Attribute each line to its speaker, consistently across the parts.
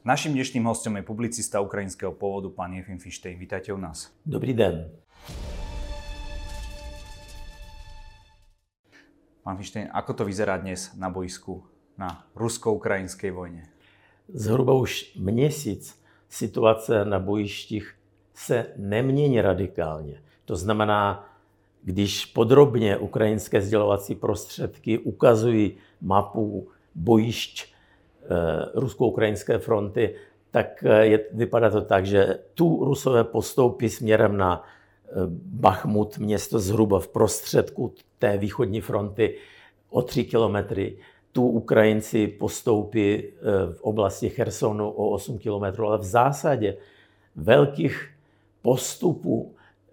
Speaker 1: Naším dnešným hostom je publicista ukrajinského pôvodu pán Jefim Fištej. Vítajte u nás.
Speaker 2: Dobrý den.
Speaker 1: Pán Fištej, ako to vyzerá dnes na boisku na rusko-ukrajinskej vojne?
Speaker 2: Zhruba už měsíc situace na bojištích se nemění radikálně. To znamená, když podrobně ukrajinské sdělovací prostředky ukazují mapu bojišť rusko-ukrajinské fronty, tak vypadá to tak, že tu Rusové postoupí směrem na Bachmut, město zhruba v prostředku té východní fronty o 3 kilometry. Tu Ukrajinci postoupí v oblasti Chersonu o 8 kilometrů, ale v zásadě velkých postupů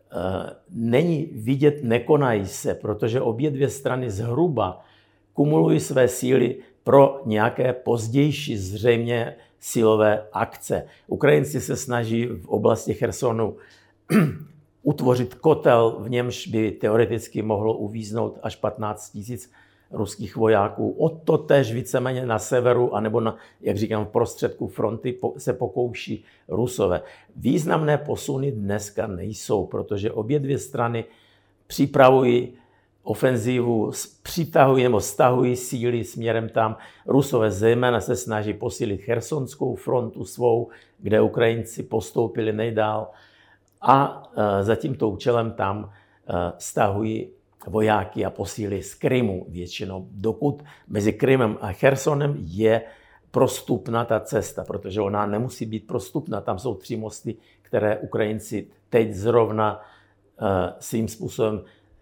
Speaker 2: není vidět, nekonají se, protože obě dvě strany zhruba kumulují své síly pro nějaké pozdější zřejmě silové akce. Ukrajinci se snaží v oblasti Chersonu utvořit kotel, v němž by teoreticky mohlo uvíznout až 15 000 ruských vojáků. O to též víceméně na severu, anebo na, jak říkám, v prostředku fronty se pokouší Rusové. Významné posuny dneska nejsou, protože obě dvě strany připravují ofenzívu, přitahují nebo stahují síly směrem tam. Rusové zejména se snaží posílit chersonskou frontu svou, kde Ukrajinci postoupili nejdál a za tímto účelem tam stahují vojáky a posíly z Krymu většinou, dokud mezi Krymem a Chersonem je prostupná ta cesta, protože ona nemusí být prostupná. Tam jsou 3 mosty, které Ukrajinci teď zrovna svým způsobem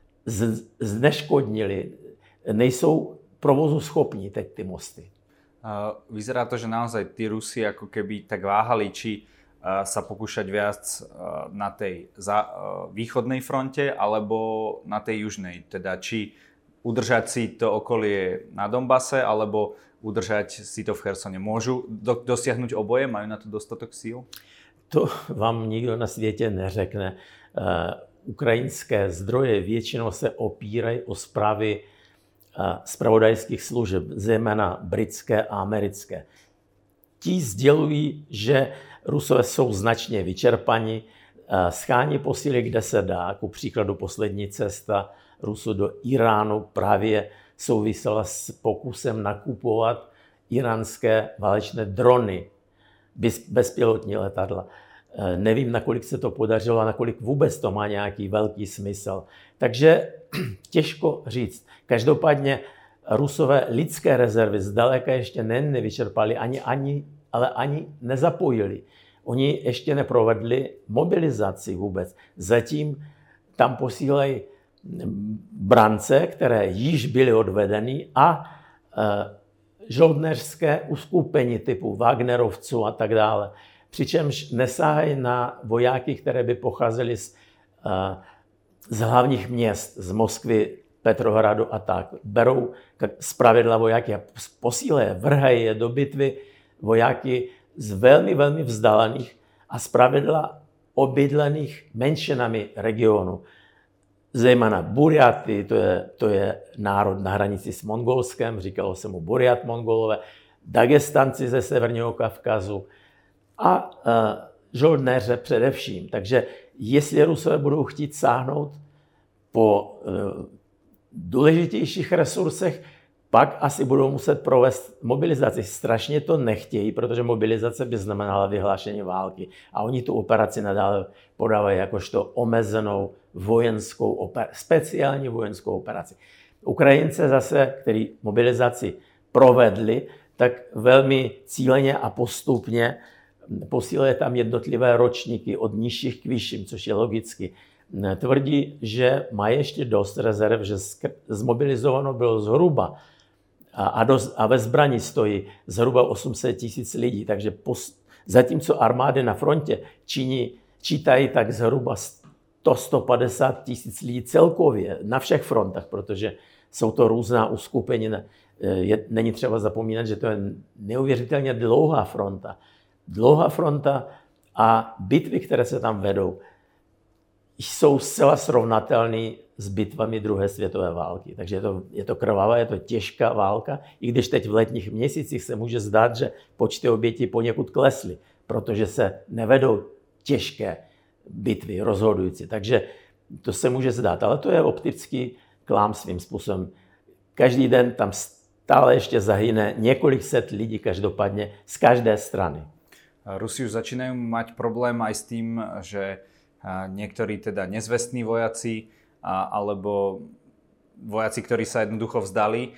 Speaker 2: zneškodnili. Nejsou provozu schopní teď ty mosty.
Speaker 1: Vyzerá to, že naozaj tí Rusi ako keby tak váhali, či sa pokúšať viac na tej východnej fronte alebo na tej južnej. Teda či udržať si to okolie na Donbase alebo udržať si to v Chersone. Môžu dosiahnuť oboje? Majú na to dostatok síl?
Speaker 2: To vám nikdo na světě neřekne. Ukrajinské zdroje většinou se opírají o zprávy zpravodajských služeb, zejména britské a americké. Ti sdělují, že Rusové jsou značně vyčerpaní, schání posíly, kde se dá. Ku příkladu poslední cesta Rusů do Iránu právě souvisela s pokusem nakupovat iránské válečné drony, bezpilotní letadla. Nevím, nakolik se to podařilo a nakolik vůbec to má nějaký velký smysl. Takže těžko říct. Každopádně Rusové lidské rezervy zdaleka ještě nevyčerpali, ale ani nezapojili. Oni ještě neprovedli mobilizaci vůbec. Zatím tam posílají brance, které již byly odvedeny a žoldnéřské uskupení typu Wagnerovců a tak dále. Přičemž nesáhají na vojáky, které by pocházely z hlavních měst, z Moskvy, Petrohradu a tak. Berou zpravidla vojáky a posílají, vrhají je do bitvy vojáky z velmi, velmi vzdálených a zpravidla obydlených menšinami regionu. Zejména Burjaty, to je národ na hranici s Mongolskem, říkalo se mu Burjat Mongolové, Dagestanci ze Severního Kavkazu a žoldnéře především. Takže jestli Rusové budou chtít sáhnout po důležitějších resursech, pak asi budou muset provést mobilizaci. Strašně to nechtějí, protože mobilizace by znamenala vyhlášení války. A oni tu operaci nadále podávají jakožto omezenou vojenskou speciální vojenskou operaci. Ukrajince zase, kteří mobilizaci provedli, tak velmi cíleně a postupně posílají tam jednotlivé ročníky od nižších k vyšším, což je logicky. Tvrdí, že má ještě dost rezerv, že zmobilizováno bylo zhruba a ve zbraní stojí zhruba 800 000 lidí. Takže zatímco armády na frontě čítají tak zhruba 100-150 000 lidí celkově na všech frontách, protože jsou to různá uskupení. Není třeba zapomínat, že to je neuvěřitelně dlouhá fronta. Dlouhá fronta a bitvy, které se tam vedou, jsou zcela srovnatelné s bitvami druhé světové války. Takže je to krvavá, je to těžká válka, i když teď v letních měsících se může zdát, že počty obětí poněkud klesly, protože se nevedou těžké bitvy rozhodující. Takže to se může zdát, ale to je optický klám svým způsobem. Každý den tam stále ještě zahyne několik set lidí každopádně z každé strany.
Speaker 1: Rusi už začínajú mať problém aj s tým, že niektorí teda nezvestní vojaci alebo vojaci, ktorí sa jednoducho vzdali,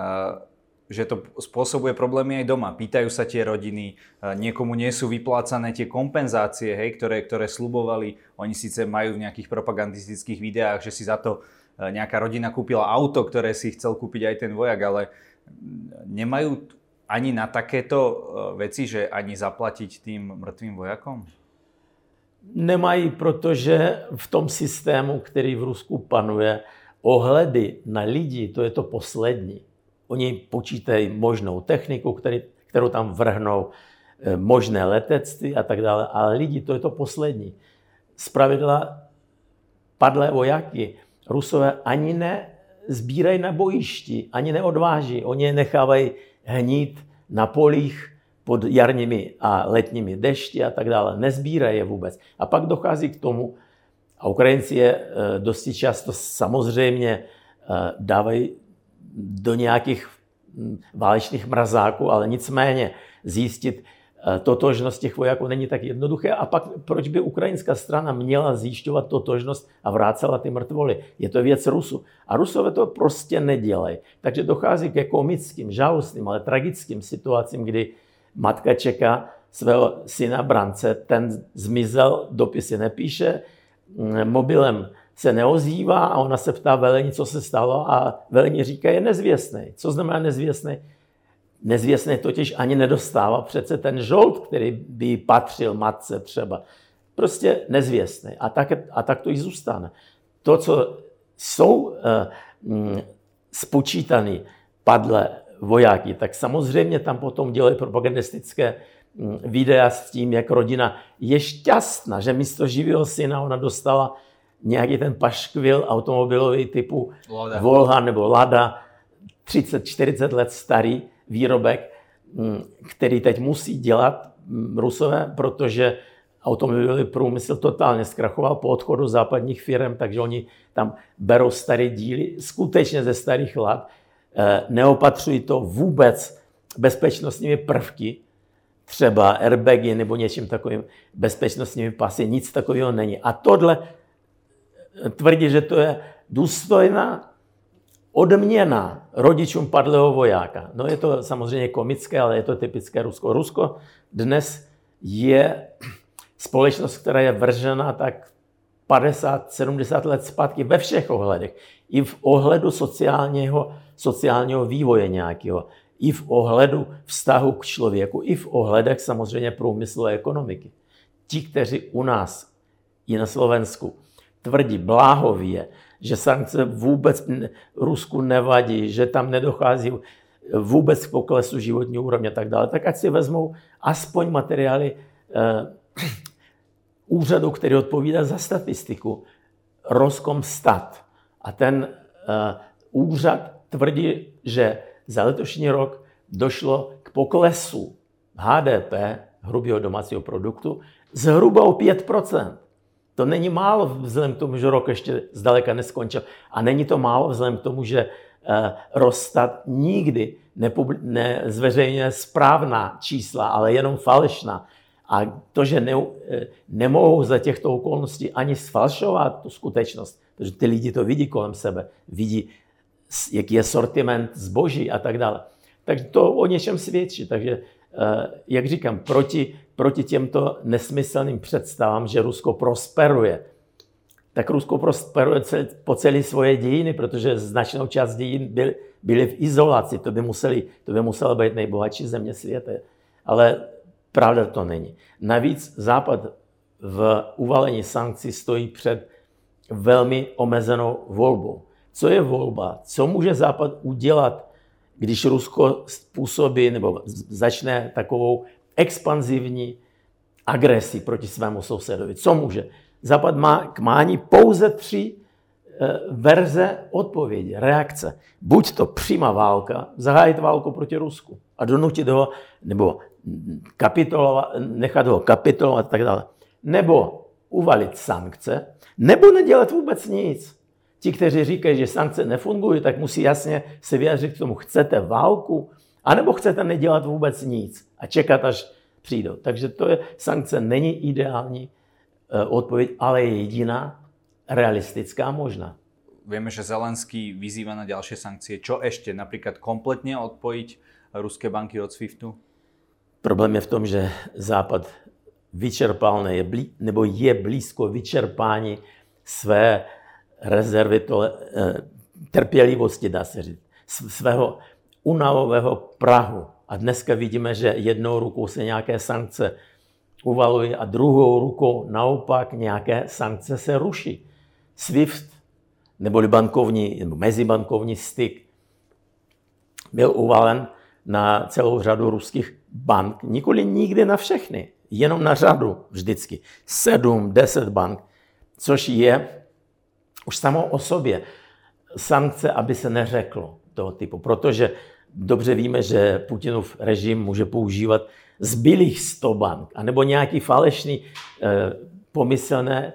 Speaker 1: že to spôsobuje problémy aj doma. Pýtajú sa tie rodiny, niekomu nie sú vyplácané tie kompenzácie, hej, ktoré sľubovali. Oni síce majú v nejakých propagandistických videách, že si za to nejaká rodina kúpila auto, ktoré si chcel kúpiť aj ten vojak, ale nemajú ani na takéto veci, že ani zaplatiť tým mŕtvým vojakom?
Speaker 2: Nemají, protože v tom systému, který v Rusku panuje, ohledy na lidi, to je to poslední. Oni počítají možnou techniku, kterou tam vrhnou, možné letectví a tak dále, ale lidi, to je to poslední. Zpravidla padlé vojáky Rusové ani nezbírají na bojišti, ani neodváží. Oni je nechávají hnít na polích pod jarními a letními dešti a tak dále. Nezbírají je vůbec. A pak dochází k tomu, a Ukrajinci je dosti často samozřejmě dávají do nějakých válečných mrazáků, ale nicméně zjistit totožnost těch vojáků není tak jednoduché. A pak proč by ukrajinská strana měla zjišťovat totožnost a vrácela ty mrtvoly? Je to věc Rusů. A Rusové to prostě nedělají. Takže dochází ke komickým, žalostným, ale tragickým situacím, kdy matka čeká svého syna Brance, ten zmizel, dopisy nepíše, mobilem se neozývá a ona se ptá velení, co se stalo, a velení říká, je nezvěstný. Co znamená nezvěstný? Nezvěstný totiž ani nedostává přece ten žolt, který by patřil matce třeba. Prostě nezvěstný. A tak to i zůstane. To, co jsou spočítaný padlé vojáky, tak samozřejmě tam potom dělají propagandistické videa s tím, jak rodina je šťastná, že místo živého syna ona dostala nějaký ten paškvil automobilový typu Volga nebo Lada, 30-40 let starý výrobek, který teď musí dělat Rusové, protože automobilový průmysl totálně zkrachoval po odchodu západních firm, takže oni tam berou staré díly, skutečně ze starých let, neopatřují to vůbec bezpečnostními prvky, třeba airbagy nebo něčím takovým bezpečnostními pasy, nic takového není. A tohle tvrdí, že to je důstojná odměna rodičům padlého vojáka. No je to samozřejmě komické, ale je to typické Rusko. Rusko dnes je společnost, která je vržena tak 50-70 let zpátky ve všech ohledech. I v ohledu sociálního vývoje nějakého, i v ohledu vztahu k člověku, i v ohledech samozřejmě průmyslu a ekonomiky. Ti, kteří u nás i na Slovensku tvrdí bláhově, že sankce vůbec Rusku nevadí, že tam nedochází vůbec k poklesu životní úrovně a tak dále, tak ať si vezmou aspoň materiály úřadu, který odpovídá za statistiku, Roskomstat. A ten úřad tvrdí, že za letošní rok došlo k poklesu HDP, hrubého domácího produktu, zhruba o 5%. To není málo vzhledem k tomu, že rok ještě zdaleka neskončil. A není to málo vzhledem k tomu, že Rosstat nikdy nezveřejňuje správná čísla, ale jenom falešná. A to, že nemohou za těchto okolností ani sfalšovat tu skutečnost, protože ty lidi to vidí kolem sebe, vidí, jaký je sortiment zboží a tak dále. Takže to o něčem svědčí. Takže, jak říkám, proti těmto nesmyslným představám, že Rusko prosperuje, tak Rusko prosperuje po celé svoje dějiny, protože značnou část dějin byly v izolaci. To by musela být nejbohatší země světa. Ale pravda to není. Navíc Západ v uvalení sankcí stojí před velmi omezenou volbou. Co je volba? Co může Západ udělat, když Rusko způsobí nebo začne takovou expanzivní agresi proti svému sousedovi? Co může? Západ má k mání pouze 3 verze odpovědi, reakce. Buď to přímá válka, zahájit válku proti Rusku a donutit ho, nebo nechat ho kapitulovat a tak dále. Nebo uvalit sankce, nebo nedělat vůbec nic. Ti, kteří říkají, že sankce nefungují, tak musí jasně se vyjádřit k tomu, chcete válku, anebo chcete nedělat vůbec nic a čekat, až přijdou. Takže sankce není ideální odpověď, ale je jediná realistická možná.
Speaker 1: Vieme, že Zelenský vyzýva na ďalšie sankcie. Čo ešte? Napríklad kompletne odpojiť ruské banky od SWIFTu?
Speaker 2: Problém je v tom, že Západ vyčerpal nebo je blízko vyčerpání své rezervy trpělivosti, dá se říct, svého unavového prahu. A dneska vidíme, že jednou rukou se nějaké sankce uvalují a druhou rukou naopak nějaké sankce se ruší. SWIFT, neboli mezibankovní styk, byl uvalen na celou řadu ruských bank, nikdy na všechny, jenom na řadu vždycky. 7-10 bank, což je už samo o sobě sankce, aby se neřeklo toho typu. Protože dobře víme, že Putinův režim může používat zbylých 100 bank, anebo nějaký falešný, pomyslné,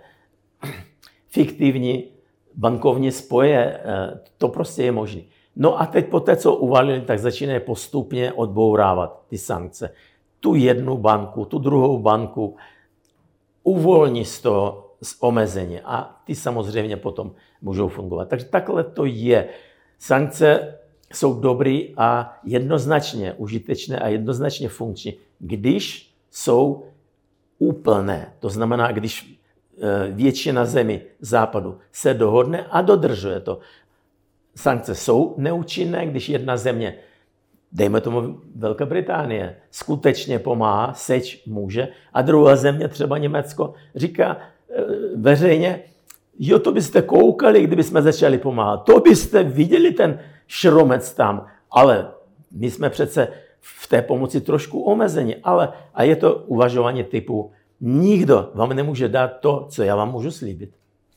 Speaker 2: fiktivní bankovní spoje. To prostě je možné. No a teď po té, co uvalili, tak začínají postupně odbourávat ty sankce. Tu jednu banku, tu druhou banku uvolní z toho omezení a ty samozřejmě potom můžou fungovat. Takže takhle to je. Sankce jsou dobrý a jednoznačně užitečné a jednoznačně funkční, když jsou úplné. To znamená, když většina zemí západu se dohodne a dodržuje to. Sankce jsou neúčinné, když jedna země, dejme tomu Velká Británie, skutečně pomáhá, seč může, a druhá země, třeba Německo, říká veřejně, jo, to byste koukali, kdybychom začali pomáhat. To byste viděli ten šromec tam, ale my jsme přece v té pomoci trošku omezení, a je to uvažování typu, nikdo vám nemůže dát to, co já vám můžu slíbit.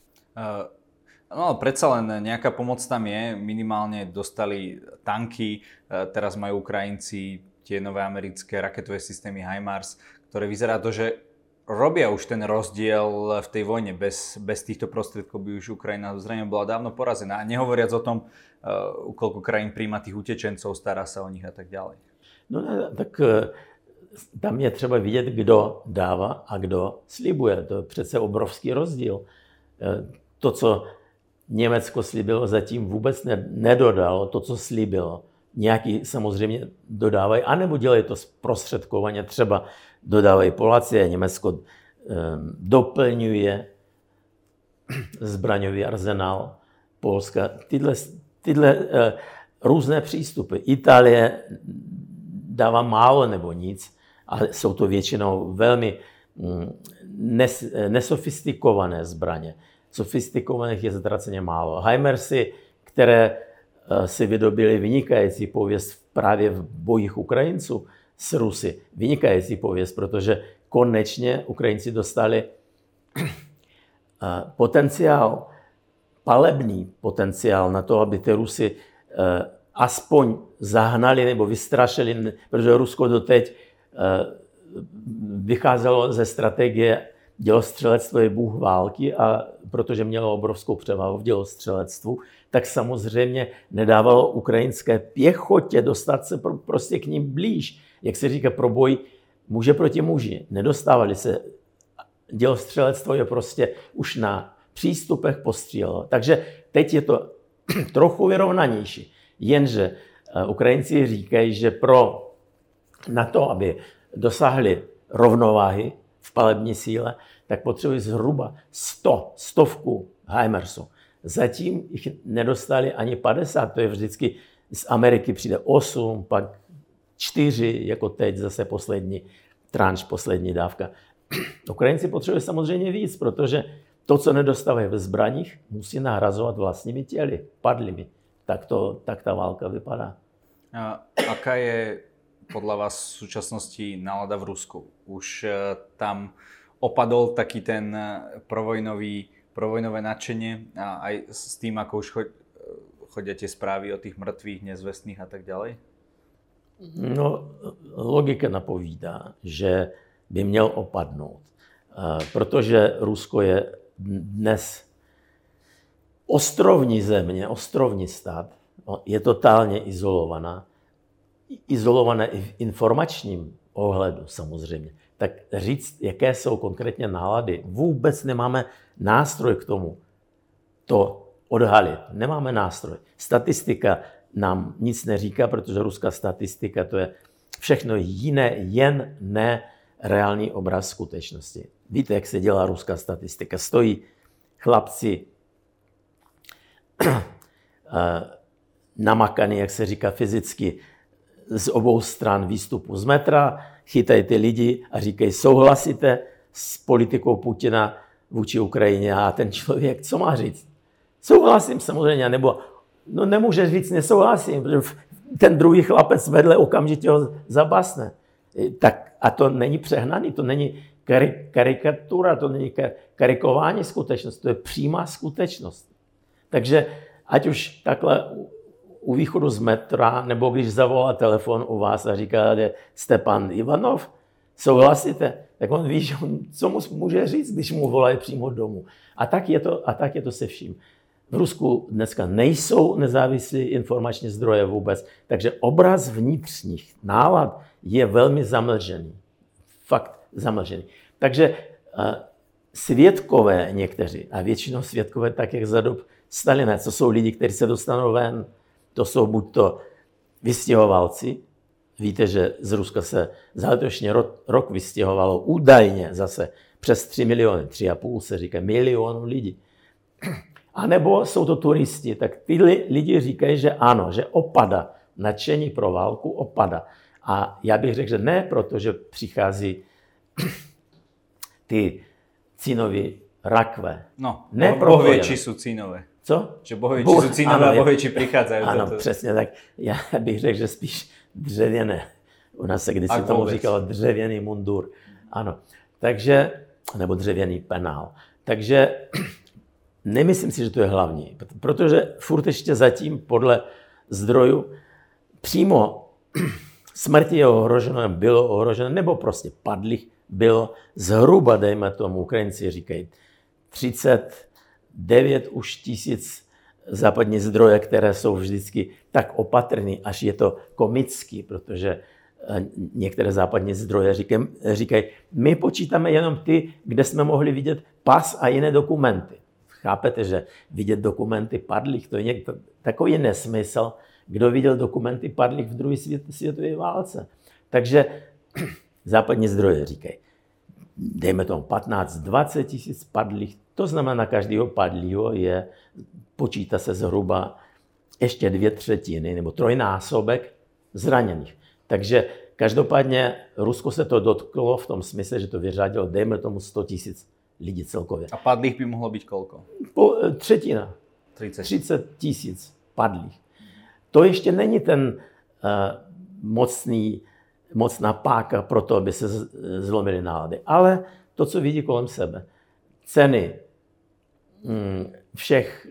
Speaker 1: No, predsa len nejaká pomoc tam je. Minimálne dostali tanky, teraz majú Ukrajinci tie nové americké raketové systémy HIMARS, ktoré vyzerá to, že robia už ten rozdiel v tej vojne. Bez týchto prostriedkov by už Ukrajina zrejme bola dávno porazená. A nehovoriac o tom, koľko krajín príjma tých utečencov, stará sa o nich a tak ďalej.
Speaker 2: No tak tam je třeba vidět, kdo dává a kdo slibuje. To je přece obrovský rozdíl. To, co Německo slíbilo, zatím vůbec nedodalo to, co slíbilo. Nějaký samozřejmě dodávají, anebo dělají to zprostředkovaně, třeba dodávají Poláci a Německo doplňuje zbraňový arzenál Polska. Tyhle různé přístupy. Itálie dává málo nebo nic, ale jsou to většinou velmi nesofistikované zbraně. Sofistikovaných je ztraceně málo. HIMARSy, které si vydobili vynikající pověst právě v bojích Ukrajinců s Rusy. Vynikající pověst, protože konečně Ukrajinci dostali potenciál, palebný potenciál na to, aby ty Rusy aspoň zahnali nebo vystrašili, protože Rusko doteď vycházelo ze strategie dělostřelectvo je bůh války a protože mělo obrovskou převahu v dělostřelectvu, tak samozřejmě nedávalo ukrajinské pěchotě dostat se prostě k ním blíž. Jak se říká, pro boj muže proti muži. Nedostávali se. Dělostřelectvo je prostě už na přístupech postřílelo. Takže teď je to trochu vyrovnanější. Jenže Ukrajinci říkají, že na to, aby dosáhli rovnováhy v palební síle, tak potřebují zhruba 100 HIMARSů. Zatím jich nedostali ani 50, to je vždycky z Ameriky přijde 8, pak 4, jako teď zase poslední tranš, poslední dávka. Ukrajinci potřebují samozřejmě víc, protože to, co nedostávají ve zbraních, musí nahrazovat vlastními těly, padlými. Tak ta válka vypadá.
Speaker 1: Aká je podľa vás v súčasnosti nálada v Rusku? Už tam opadol taký ten provojnový provojnové nadšenie a aj s tým, ako už chodia tie správy o tých mŕtvych, nezvestných a tak ďalej?
Speaker 2: No, logika napovídá, že by měl opadnout, protože Rusko je dnes ostrovní země, ostrovní stát, je totálně izolované i v informačním ohledu samozřejmě. Tak říct, jaké jsou konkrétně nálady, vůbec nemáme nástroj k tomu to odhalit. Nemáme nástroj. Statistika nám nic neříká, protože ruská statistika to je všechno jiné, jen ne reálný obraz skutečnosti. Víte, jak se dělá ruská statistika? Stojí chlapci namakaný, jak se říká fyzicky, z obou stran výstupu z metra, chytají ty lidi a říkají, souhlasíte s politikou Putina vůči Ukrajině? A ten člověk, co má říct? Souhlasím samozřejmě, nebo no nemůže říct, nesouhlasím, protože ten druhý chlapec vedle okamžitě ho zabasne. Tak, a to není přehnaný, to není karikatura, to není karikování skutečnosti, to je přímá skutečnost. Takže ať už takhle u východu z metra, nebo když zavolá telefon u vás a říká, že jste pan Ivanov, souhlasíte? Tak on ví, že co mu může říct, když mu volají přímo domů. A tak je to se vším. V Rusku dneska nejsou nezávislí informační zdroje vůbec, takže obraz vnitřních nálad je velmi zamlžený. Fakt zamlžený. Takže svědkové někteří, a většinou svědkové tak, jak za dob Stalina, to jsou lidi, kteří se dostanou ven, to jsou buď to vystěhovalci, víte, že z Ruska se za letošní rok vystěhovalo údajně zase přes 3 miliony, 3,5 se říká, milionů lidí. A nebo jsou to turisti, tak ty lidi říkají, že ano, že opada, nadšení pro válku opada. A já bych řekl, že ne, protože přichází ty cínoví rakve.
Speaker 1: No,
Speaker 2: ne
Speaker 1: Boh vie, či sú cínové.
Speaker 2: Co?
Speaker 1: Že Boh vie, či sú cínové a Boh vie, či prichádzajú.
Speaker 2: Ano, přesně tak. Já bych řekl, že spíš dřevěné. U nás se kdysi tomu říkalo dřevěný mundur. Ano, takže, nebo dřevěný penál. Takže nemyslím si, že to je hlavní, protože furt ještě zatím podle zdrojů přímo smrti je ohroženo, bylo ohroženo, nebo prostě padlých bylo zhruba, dejme tomu, Ukrajinci říkají, 39 už tisíc západní zdroje, které jsou vždycky tak opatrný, až je to komický, protože některé západní zdroje říkají, my počítáme jenom ty, kde jsme mohli vidět pas a jiné dokumenty. Chápete, že vidět dokumenty padlých, to je takový nesmysl, kdo viděl dokumenty padlých v druhé světové válce. Takže západní zdroje říkají, dejme tomu 15-20 tisíc padlých, to znamená, každého padlého počítá se zhruba ještě 2/3 nebo trojnásobek zraněných. Takže každopádně Rusko se to dotklo v tom smysle, že to vyřadilo, dejme tomu 100 tisíc lidí celkově.
Speaker 1: A padlých by mohlo byť koľko?
Speaker 2: Třetina. 30 tisíc padlých. To ještě není ten mocná páka pro to, aby se zlomily nálady. Ale to, co vidí kolem sebe. Ceny všech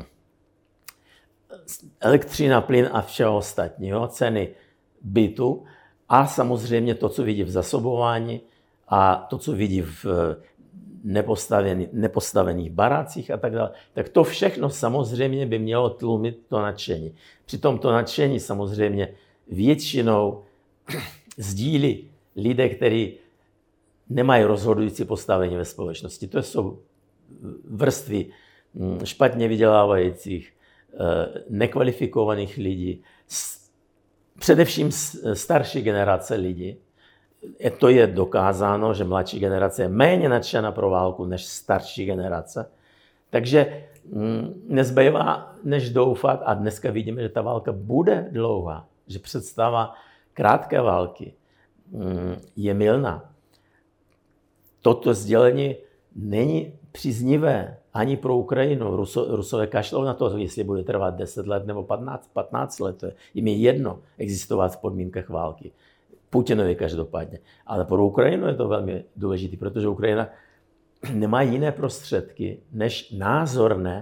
Speaker 2: elektřina, plyn a všeho ostatního, ceny bytu a samozřejmě to, co vidí v zasobování a to, co vidí v nepostavených barácích a tak dále, tak to všechno samozřejmě by mělo tlumit to nadšení. Přitom to nadšení samozřejmě většinou sdílí lidé, kteří nemají rozhodující postavení ve společnosti. To jsou vrstvy špatně vydělávajících, nekvalifikovaných lidí, především starší generace lidí. To je dokázáno, že mladší generace je méně nadšená pro válku než starší generace. Takže nezbývá než doufat, a dneska vidíme, že ta válka bude dlouhá, že představa krátké války je mylná. Toto sdělení není příznivé ani pro Ukrajinu. Rusové kašlou na to, jestli bude trvat 10 let nebo 15 let. Jim je jedno existovat v podmínkách války. Putinovi každopádně. Ale pro Ukrajinu je to velmi důležité, protože Ukrajina nemají jiné prostředky než názorné,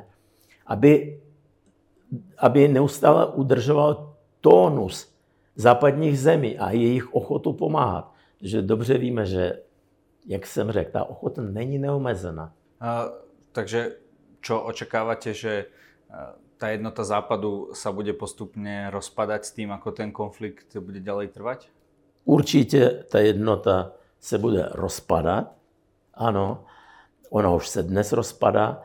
Speaker 2: aby neustále udržoval tónus západních zemí a jejich ochotu pomáhat. Že dobře víme, že, jak jsem řekl, ta ochota není neomezená.
Speaker 1: Takže čo očakávate, že tá jednota Západu sa bude postupne rozpadať s tým, ako ten konflikt bude ďalej trvať?
Speaker 2: Určitě ta jednota se bude rozpadat. Ano, ona už se dnes rozpadá.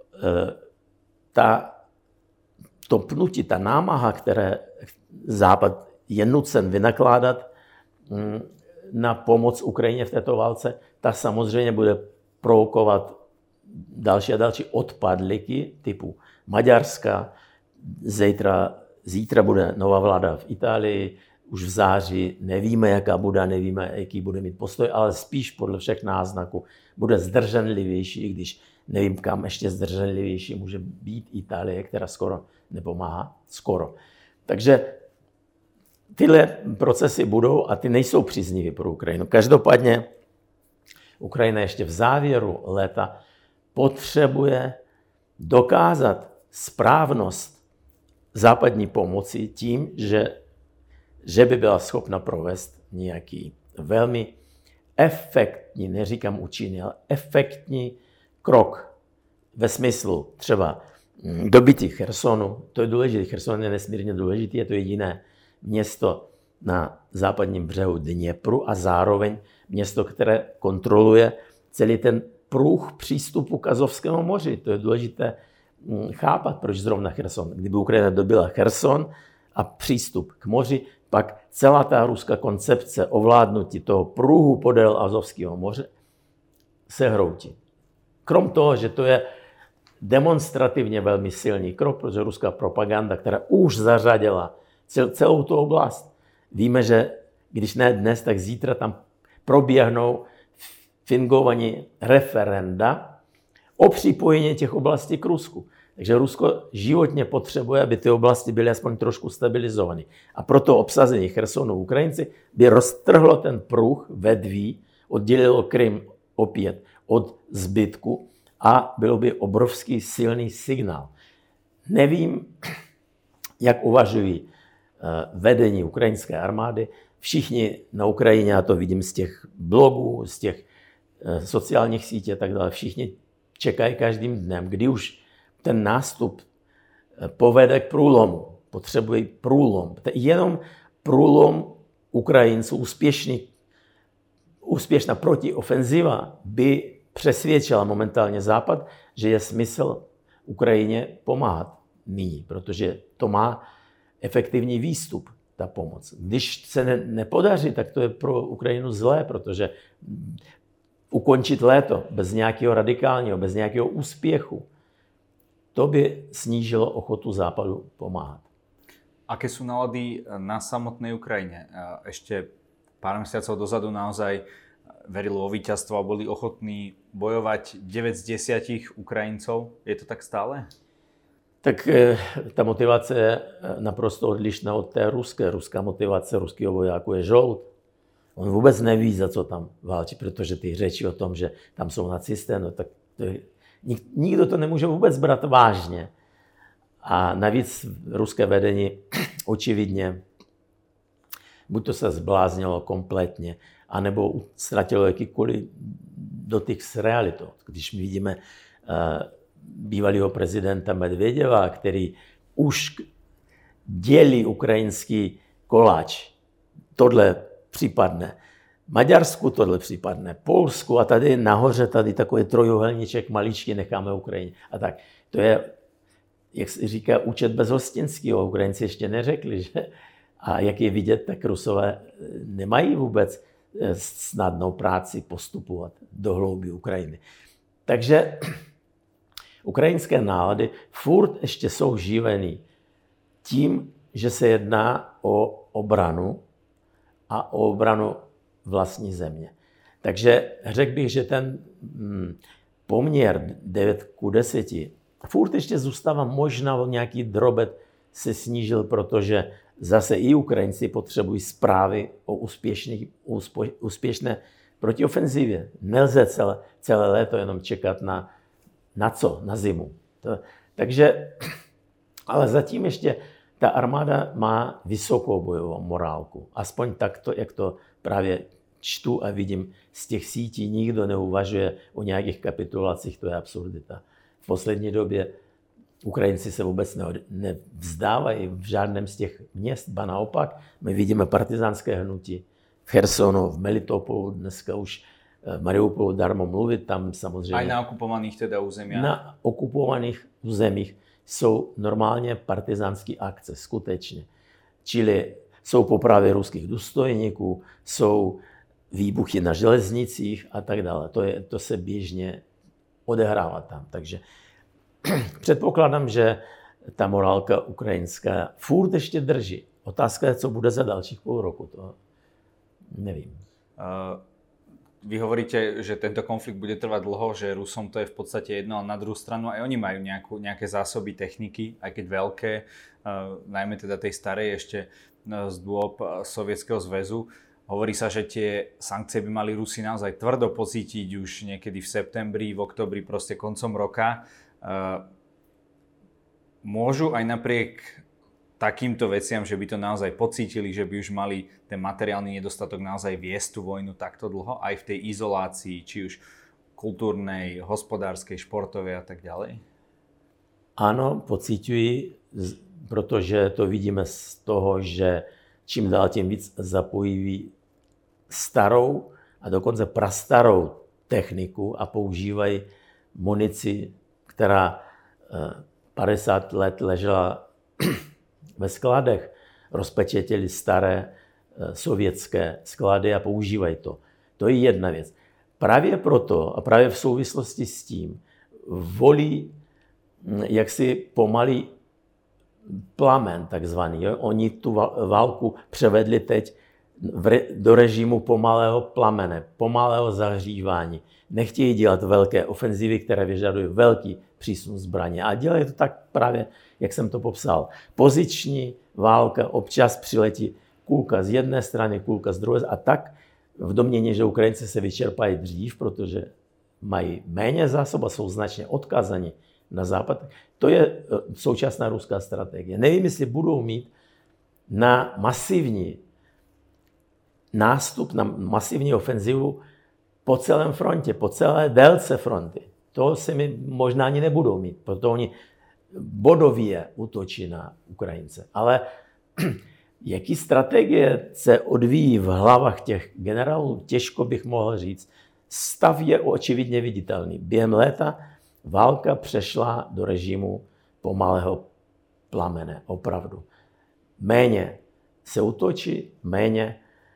Speaker 2: To pnutí, ta námaha, které Západ je nucen vynakládat na pomoc Ukrajině v této válce, ta samozřejmě bude provokovat další a další odpadliky typu Maďarska. Zítra bude nová vláda v Itálii, už v září nevíme, jaká bude, nevíme, jaký bude mít postoj, ale spíš podle všech náznaků bude zdrženlivější, i když nevím, kam ještě zdrženlivější může být Itálie, která skoro nepomáhá. Skoro. Takže tyhle procesy budou a ty nejsou příznivé pro Ukrajinu. Každopádně Ukrajina ještě v závěru léta potřebuje dokázat správnost západní pomoci tím, že by byla schopna provést nějaký velmi efektní, neříkám účinný, ale efektní krok ve smyslu třeba dobytí Chersonu. To je důležité, Cherson je nesmírně důležitý, je to jediné město na západním břehu Dněpru a zároveň město, které kontroluje celý ten pruh přístupu k Azovskému moři. To je důležité chápat, proč zrovna Cherson. Kdyby Ukrajina dobila Cherson a přístup k moři, pak celá ta ruská koncepce ovládnutí toho pruhu podél Azovského moře se hroutí. Krom toho, že to je demonstrativně velmi silný krok, protože ruská propaganda, která už zařadila celou tu oblast. Víme, že když ne dnes, tak zítra tam proběhnou fingovaní referenda o připojení těch oblastí k Rusku. Takže Rusko životně potřebuje, aby ty oblasti byly aspoň trošku stabilizované. A proto obsazení Chersonu Ukrajinci by roztrhlo ten pruh vedví, oddělilo Krym opět od zbytku a bylo by obrovský silný signál. Nevím, jak uvažují vedení ukrajinské armády. Všichni na Ukrajině, já to vidím z těch blogů, z těch sociálních sítí a tak dále, všichni čekají každým dnem, kdy už ten nástup povede k průlomu. Potřebují průlom. Jenom průlom Ukrajinců, úspěšná protiofenziva by přesvědčila momentálně Západ, že je smysl Ukrajině pomáhat nyní, protože to má efektivní výstup, ta pomoc. Když se nepodaří, tak to je pro Ukrajinu zlé, protože ukončit léto bez nějakého radikálního, bez nějakého úspěchu, to by snížilo ochotu Západu pomáhat.
Speaker 1: Aké sú nálady na samotnej Ukrajine? Ešte pár mesiacov dozadu naozaj verili vo víťazstvo a boli ochotní bojovať 9 z 10 Ukrajincov. Je to tak stále?
Speaker 2: Tak ta motivace je naprosto odlišná od té ruské. Ruská motivace ruského vojáku je žout. On vůbec neví, za co tam válčí, protože ty řeči o tom, že tam jsou nacisté, no tak to je, nikdo to nemůže vůbec brát vážně. A navíc ruské vedení očividně buď to se zbláznilo kompletně, anebo ztratilo jakýkoliv dotyk s realitou. Když my vidíme bývalého prezidenta Medvěděva, který už dělí ukrajinský koláč. Tohle případne. Maďarsku tohle případne, Polsku a tady nahoře tady takový trojuhelníček maličký necháme Ukrajině. A tak. To je, jak se říká, účet bezhostinského. Ukrajinci ještě neřekli, že? A jak je vidět, tak Rusové nemají vůbec snadnou práci postupovat do hloubí Ukrajiny. Takže ukrajinské nálady furt ještě jsou živený tím, že se jedná o obranu a o obranu vlastní země. Takže řekl bych, že ten poměr 9:10 furt ještě zůstává, možná nějaký drobet se snížil, protože zase i Ukrajinci potřebují zprávy o úspěšné proti ofenzivě. Nelze celé léto jenom čekat na co? Na zimu. Takže, ale zatím ještě ta armáda má vysokou bojovou morálku. Aspoň takto, jak to právě čtu a vidím z těch sítí, nikdo neuvažuje o nějakých kapitulacích, to je absurdita. V poslední době Ukrajinci se vůbec nevzdávají v žádném z těch měst, ba naopak. My vidíme partizánské hnutí v Chersonu, v Melitopolu, dneska už v Mariupolu darmo mluvit, tam samozřejmě...
Speaker 1: Aj na okupovaných teda územiach?
Speaker 2: Na okupovaných územích jsou normálně partizánské akce, skutečně. Čili jsou popravy ruských důstojníků, jsou výbuchy na železnicích a tak dále. To se běžně odehrává tam. Takže předpokládám, že ta morálka ukrajinská furt ještě drží. Otázka je, co bude za dalších půl roku. To nevím.
Speaker 1: Vy hovoríte, že tento konflikt bude trvať dlho, že Rusom to je v podstate jedno, ale na druhú stranu aj oni majú nejaké zásoby techniky, aj keď veľké, najmä teda tej starej ešte z dôb Sovietskeho zväzu. Hovorí sa, že tie sankcie by mali Rusi naozaj tvrdo pocítiť už niekedy v septembri, v októbri, proste koncom roka. Môžu aj napriek takýmto veciam, že by to naozaj pocítili, že by už mali ten materiálny nedostatok naozaj viesť tú vojnu takto dlho, aj v tej izolácii, či už kultúrnej, hospodárskej, športovej a tak ďalej?
Speaker 2: Áno, pociťují, protože to vidíme z toho, že čím dál tím víc zapojí starou a dokonce prastarou techniku a používají munici, která 50 let ležela ve skladech, rozpečetili staré sovětské sklady a používají to. To je jedna věc. Právě proto a právě v souvislosti s tím volí jaksi pomalý plamen takzvaný. Jo? Oni tu válku převedli teď do režimu pomalého plamene, pomalého zahřívání. Nechtějí dělat velké ofenzivy, které vyžadují velký přísun zbraně. A dělají to tak právě, jak jsem to popsal. Poziční válka, občas přiletí kulka z jedné strany, kulka z druhé. A tak v domnění, že Ukrajinci se vyčerpají dřív, protože mají méně zásob a jsou značně odkázaní na západ. To je současná ruská strategie. Nevím, jestli budou mít na masivní nástup, na masivní ofenzivu po celém frontě, po celé délce fronty. To se mi možná ani nebudou mít, protože oni bodově útočí na Ukrajince. Ale jaký strategie se odvíjí v hlavách těch generálů, těžko bych mohl říct. Stav je očividně viditelný. Během léta válka přešla do režimu pomalého plamene, opravdu. Méně se útočí, méně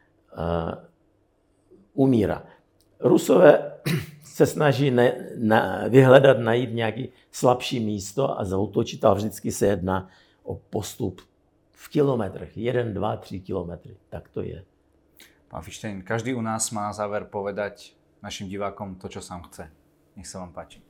Speaker 2: umírá. Rusové se snaží vyhledat, najít nějaký slabší místo a zaútočit, ale vždycky se jedná o postup v kilometrech. 1, 2, 3 kilometry. Tak to je.
Speaker 1: Pán Fištejn, každý u nás má na záver povedať našim divákom to, čo sám chce. Nech sa vám páči.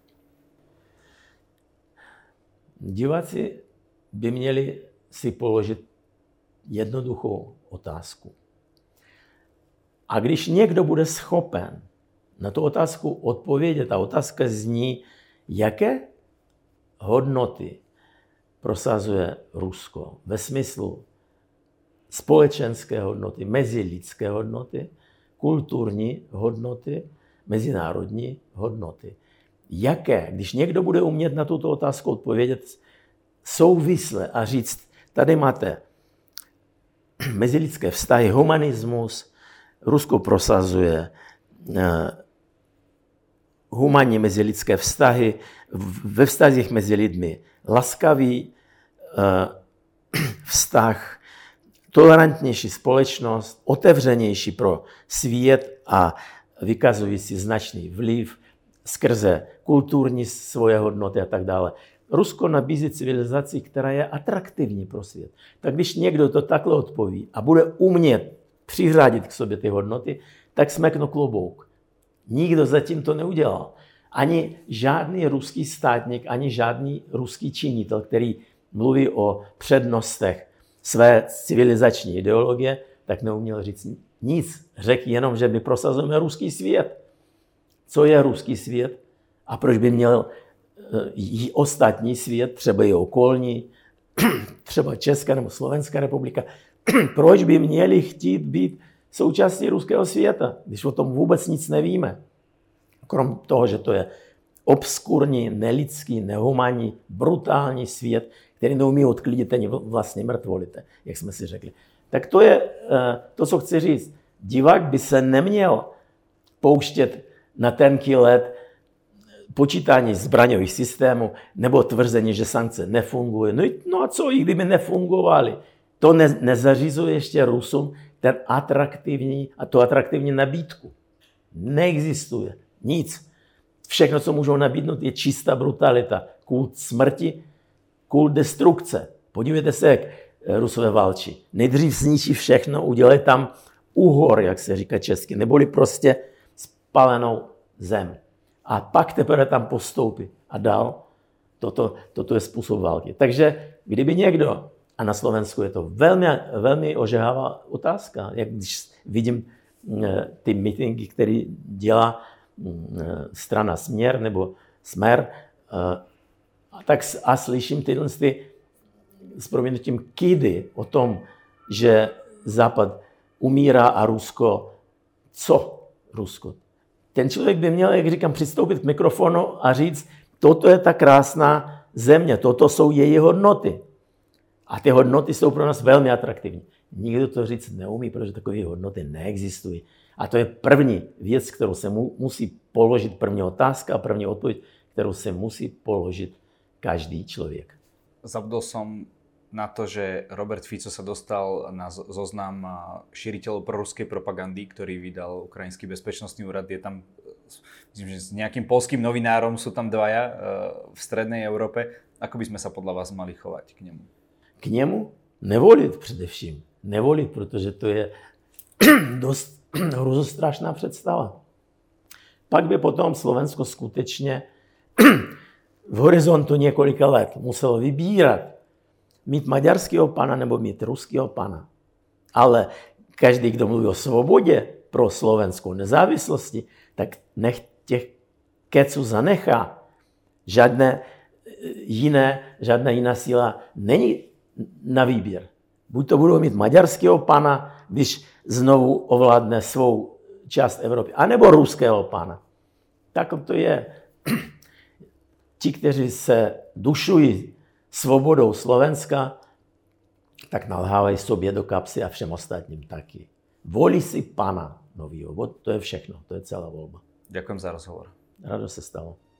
Speaker 2: Diváci by měli si položit jednoduchou otázku. A když někdo bude schopen na tu otázku odpovědět, a otázka zní, jaké hodnoty prosazuje Rusko ve smyslu společenské hodnoty, mezilidské hodnoty, kulturní hodnoty, mezinárodní hodnoty. Jaké, když někdo bude umět na tuto otázku odpovědět souvisle a říct, tady máte mezilidské vztahy, humanismus, Rusko prosazuje humanní mezilidské vztahy, ve vztazích mezi lidmi laskavý vztah, tolerantnější společnost, otevřenější pro svět a vykazující značný vliv skrze kulturní svoje hodnoty a tak dále. Rusko nabízí civilizaci, která je atraktivní pro svět. Tak když někdo to takhle odpoví a bude umět přiřádit k sobě ty hodnoty, tak smeknu klobouk. Nikdo zatím to neudělal. Ani žádný ruský státník, ani žádný ruský činitel, který mluví o přednostech své civilizační ideologie, tak neuměl říct nic. Řekl jenom, že my prosazujeme ruský svět. Co je ruský svět a proč by měl i ostatní svět, třeba i okolní, třeba Česká nebo Slovenská republika, proč by měli chtít být součástí ruského světa, když o tom vůbec nic nevíme. Krom toho, že to je obskurní, nelidský, nehumánní, brutální svět, který neumí odklidit ani vlastně mrtvolité, jak jsme si řekli. Tak to je to, co chci říct. Divák by se neměl pouštět na tenký led počítání zbraňových systémů nebo tvrzení, že sankce nefungují. No a co, i kdyby nefungovaly? To nezařizuje ještě Rusům ten atraktivní nabídku. Neexistuje nic. Všechno, co můžou nabídnout, je čistá brutalita. Kult smrti, kult destrukce. Podívejte se, jak Rusové válčí. Nejdřív zničí všechno, udělají tam úhor, jak se říká česky, neboli prostě spálenou zem. A pak teprve tam postoupí. A dál, toto je způsob války. Takže kdyby někdo, a na Slovensku je to velmi, velmi ožehavá otázka, jak když vidím ty mítinky, které dělá strana Směr nebo Smer, a slyším tyhle s proměnutím kidy o tom, že Západ umírá a Rusko, co Rusko? Ten člověk by měl, jak říkám, přistoupit k mikrofonu a říct, toto je ta krásná země, toto jsou její hodnoty. A ty hodnoty jsou pro nás velmi atraktivní. Nikdo to říct neumí, protože takové hodnoty neexistují. A to je první věc, kterou se musí položit, první otázka a první odpověď, kterou se musí položit každý člověk.
Speaker 1: Zabudol som na to, že Robert Fico sa dostal na zoznam šíriteľov proruskej propagandy, ktorý vydal Ukrajinský bezpečnostný úrad. Je tam, myslím, že s nejakým poľským novinárom sú tam dvaja v strednej Európe. Ako by sme sa podľa vás mali chovať k nemu?
Speaker 2: K němu nevolit především. Nevolit, protože to je dost hruzostrašná představa. Pak by potom Slovensko skutečně v horizontu několika let muselo vybírat, mít maďarského pana nebo mít ruského pana. Ale každý, kdo mluví o svobodě pro slovenskou nezávislosti, tak nech těch keců zanechá. Žádná jiná síla není na výběr. Buď to budou mít maďarského pana, když znovu ovládne svou část Evropy, anebo ruského pana. Tak to je. Ti, kteří se dušují svobodou Slovenska, tak nalhávají sobě do kapsy a všem ostatním taky. Volí si pana novýho. To je všechno, to je celá volba.
Speaker 1: Ďakujem za rozhovor.
Speaker 2: Rado se stalo.